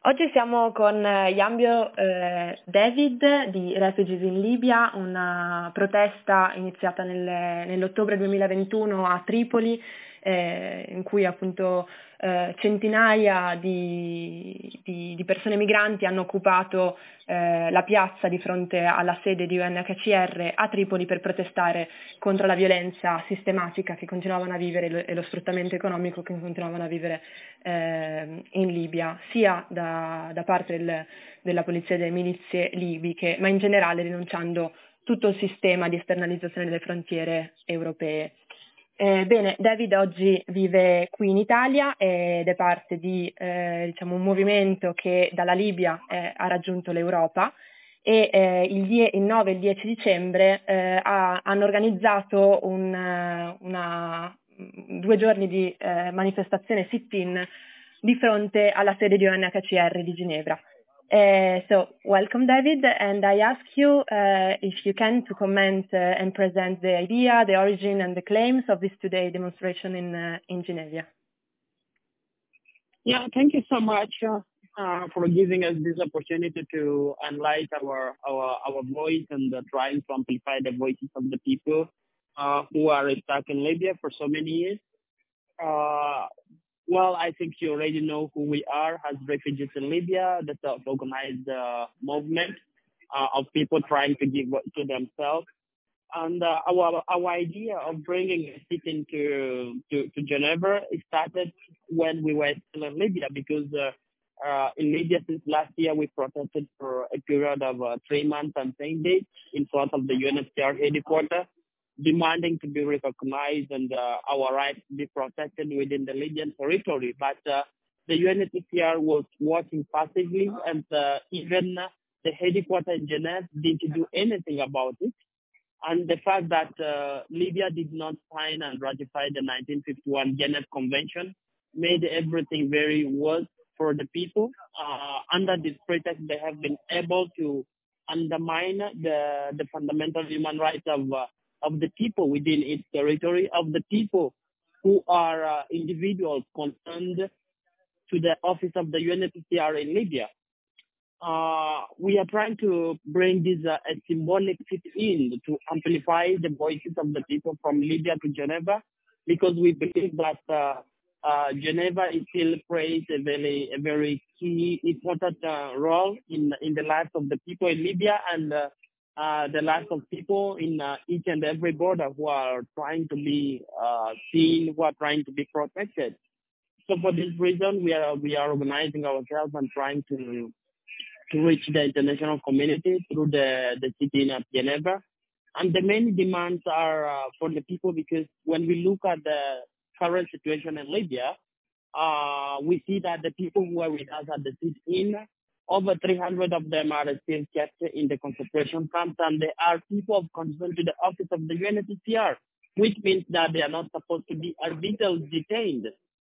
Oggi siamo con Yambio David di Refugees in Libia, una protesta iniziata nell'ottobre 2021 a Tripoli, in cui appunto centinaia di persone migranti hanno occupato la piazza di fronte alla sede di UNHCR a Tripoli per protestare contro la violenza sistematica che continuavano a vivere e lo sfruttamento economico che continuavano a vivere in Libia, sia da parte della polizia e delle milizie libiche, ma in generale rinunciando tutto il sistema di esternalizzazione delle frontiere europee. Bene, David oggi vive qui in Italia ed è parte di un movimento che dalla Libia ha raggiunto l'Europa e il 9 e il 10 dicembre hanno organizzato 2 giorni di manifestazione sit-in di fronte alla sede di UNHCR di Ginevra. So welcome, David, and I ask you if you can to comment and present the idea, the origin and the claims of this today demonstration in Geneva. Yeah, thank you so much for giving us this opportunity to enlighten our voice and trying to amplify the voices of the people who are stuck in Libya for so many years. Well, I think you already know who we are as Refugees in Libya, the self-organized movement of people trying to give to themselves. And our idea of bringing a sit-in to Geneva started when we were still in Libya, because in Libya since last year we protested for a period of 3 months and 10 days in front of the UNHCR headquarters, demanding to be recognized and our rights to be protected within the Libyan territory. But the UNHCR was watching passively, and even the headquarters in Geneva didn't do anything about it. And the fact that Libya did not sign and ratify the 1951 Geneva Convention made everything very worse for the people. Under this pretext, they have been able to undermine the fundamental human rights of the people within its territory, of the people who are individuals concerned to the office of the UNHCR in Libya. We are trying to bring this a symbolic sit-in to amplify the voices of the people from Libya to Geneva, because we believe that Geneva still plays a very key, important role in the lives of the people in Libya and the lives of people in each and every border who are trying to be seen, who are trying to be protected. So for this reason, we are organizing ourselves and trying to reach the international community through the sit-in at Geneva. And the main demands are for the people, because when we look at the current situation in Libya, we see that the people who are with us at the sit-in, over 300 of them are still kept in the concentration camps, and they are people of concern to the office of the UNHCR, which means that they are not supposed to be arbitrarily detained.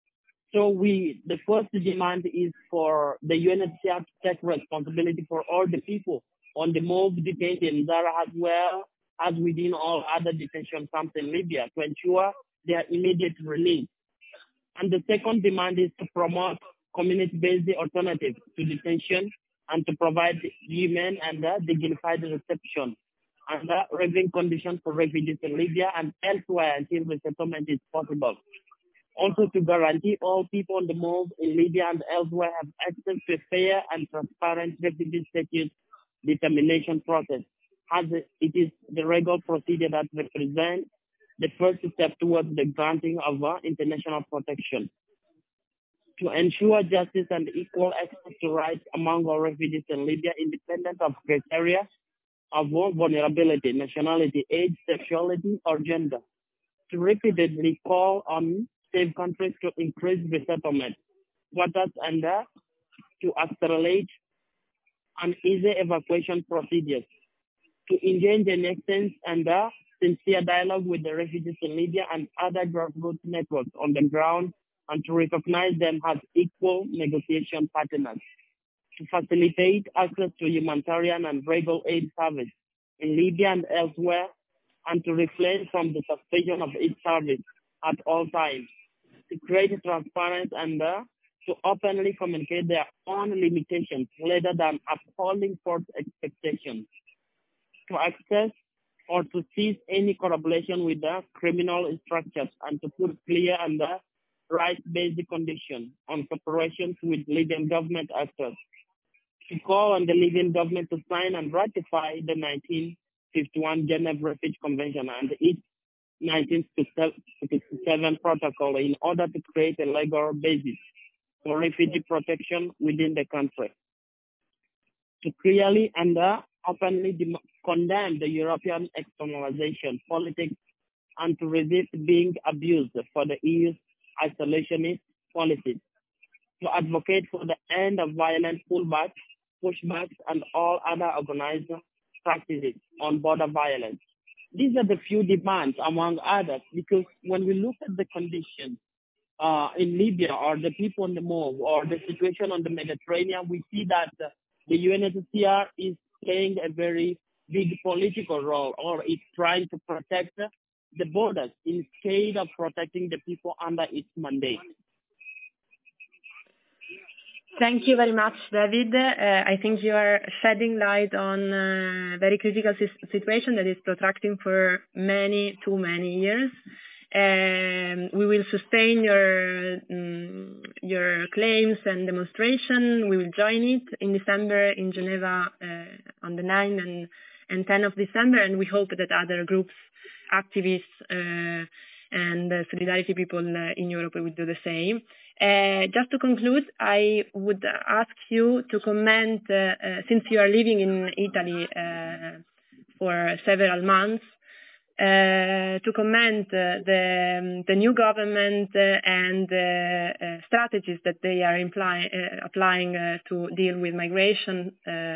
So the first demand is for the UNHCR to take responsibility for all the people on the move detained in Zara, as well as within all other detention camps in Libya, to ensure their immediate release. And the second demand is to promote community-based alternatives to detention and to provide human and dignified reception and living conditions for refugees in Libya and elsewhere until resettlement is possible. Also to guarantee all people on the move in Libya and elsewhere have access to a fair and transparent refugee status determination process, as it is the regular procedure that represents the first step towards the granting of international protection. To ensure justice and equal access to rights among all refugees in Libya, independent of criteria of vulnerability, nationality, age, sexuality, or gender. To repeatedly call on safe countries to increase resettlement quotas and to accelerate and easy evacuation procedures. To engage in extensive and sincere dialogue with the refugees in Libya and other grassroots networks on the ground, and to recognize them as equal negotiation partners. To facilitate access to humanitarian and regular aid service in Libya and elsewhere, and to refrain from the suspension of aid service at all times. To create transparent and to openly communicate their own limitations rather than upholding false expectations, to access or to cease any collaboration with the criminal structures, and to put clear and right-based conditions on cooperations with Libyan government actors, to call on the Libyan government to sign and ratify the 1951 Geneva Refugee Convention and its 1967 protocol in order to create a legal basis for refugee protection within the country, to clearly and openly condemn the European externalization politics and to resist being abused for the EU's isolationist policies, to advocate for the end of violent pushbacks, and all other organized practices on border violence. These are the few demands, among others, because when we look at the conditions in Libya or the people on the move or the situation on the Mediterranean, we see that the UNHCR is playing a very big political role, or it's trying to protect the borders instead of protecting the people under its mandate. Thank you very much, David. I think you are shedding light on a very critical situation that is protracting for too many years. We will sustain your claims and demonstration. We will join it in December in Geneva on the 9th and 10th of December, and we hope that other groups, activists, and solidarity people in Europe will do the same. Just to conclude, I would ask you to comment, since you are living in Italy for several months, to comment the new government and strategies that they are applying to deal with migration.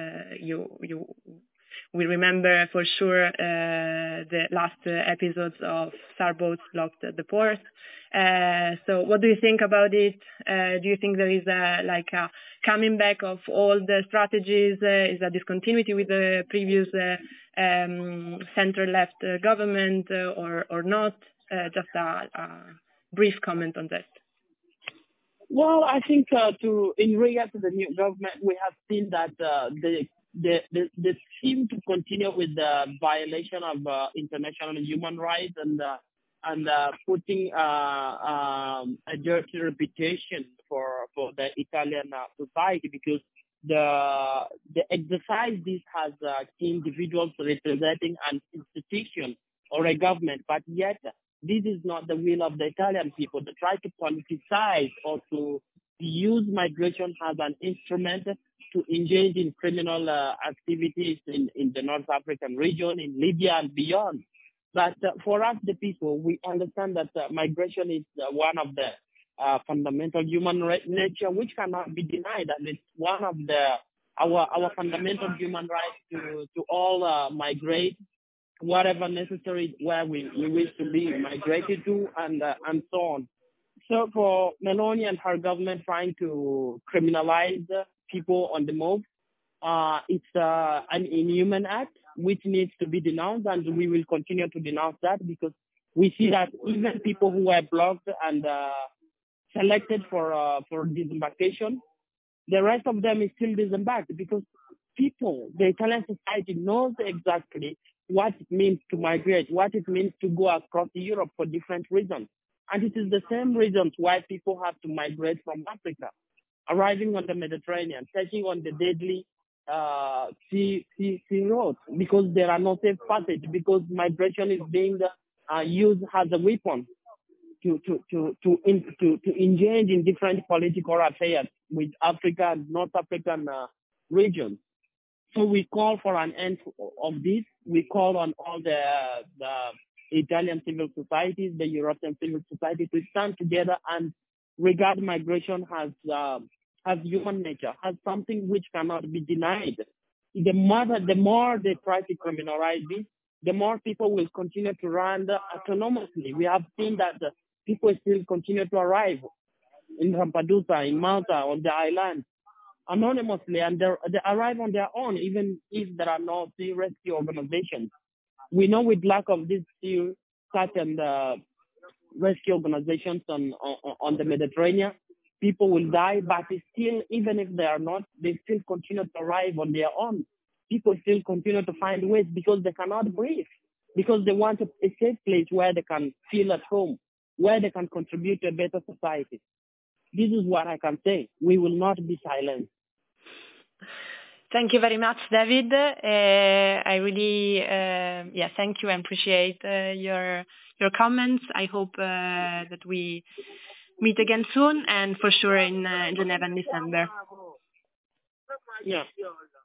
We remember for sure the last episodes of SAR boats blocked at the port. So what do you think about it? Do you think there is a coming back of all the strategies? Is a discontinuity with the previous center-left government or not? Just a brief comment on that. Well, I think in regard to the new government, we have seen that they seem to continue with the violation of international human rights and putting a dirty reputation for the Italian society, because the exercise this has individuals representing an institution or a government, but yet this is not the will of the Italian people. They try to politicize or to use migration as an instrument to engage in criminal activities in the North African region, in Libya and beyond. But for us, the people, we understand that migration is one of the fundamental human nature, which cannot be denied, and it's one of our fundamental human rights to all migrate, whatever necessary, where we wish to be migrated to, and so on. So for Meloni and her government trying to criminalize people on the move, it's an inhuman act which needs to be denounced, and we will continue to denounce that, because we see that even people who were blocked and selected for disembarkation, the rest of them is still disembarked, because people, the Italian society knows exactly what it means to migrate, what it means to go across Europe for different reasons. And it is the same reasons why people have to migrate from Africa, arriving on the Mediterranean, taking on the deadly sea roads, because there are no safe passage, because migration is being used as a weapon to engage in different political affairs with Africa and North African regions. So we call for an end of this. We call on all the Italian civil societies, the European civil society, to stand together and regard migration as human nature, as something which cannot be denied. The more they try to criminalize this, the more people will continue to run autonomously. We have seen that people still continue to arrive in Lampedusa, in Malta, on the islands, anonymously, and they arrive on their own, even if there are no sea rescue organizations. We know with lack of these sea search and rescue organizations on the Mediterranean, people will die, but still, even if they are not, they still continue to arrive on their own. People still continue to find ways because they cannot breathe, because they want a safe place where they can feel at home, where they can contribute to a better society. This is what I can say. We will not be silent. Thank you very much, David. I really, thank you and appreciate your comments. I hope that we meet again soon, and for sure in Geneva in December. Yeah.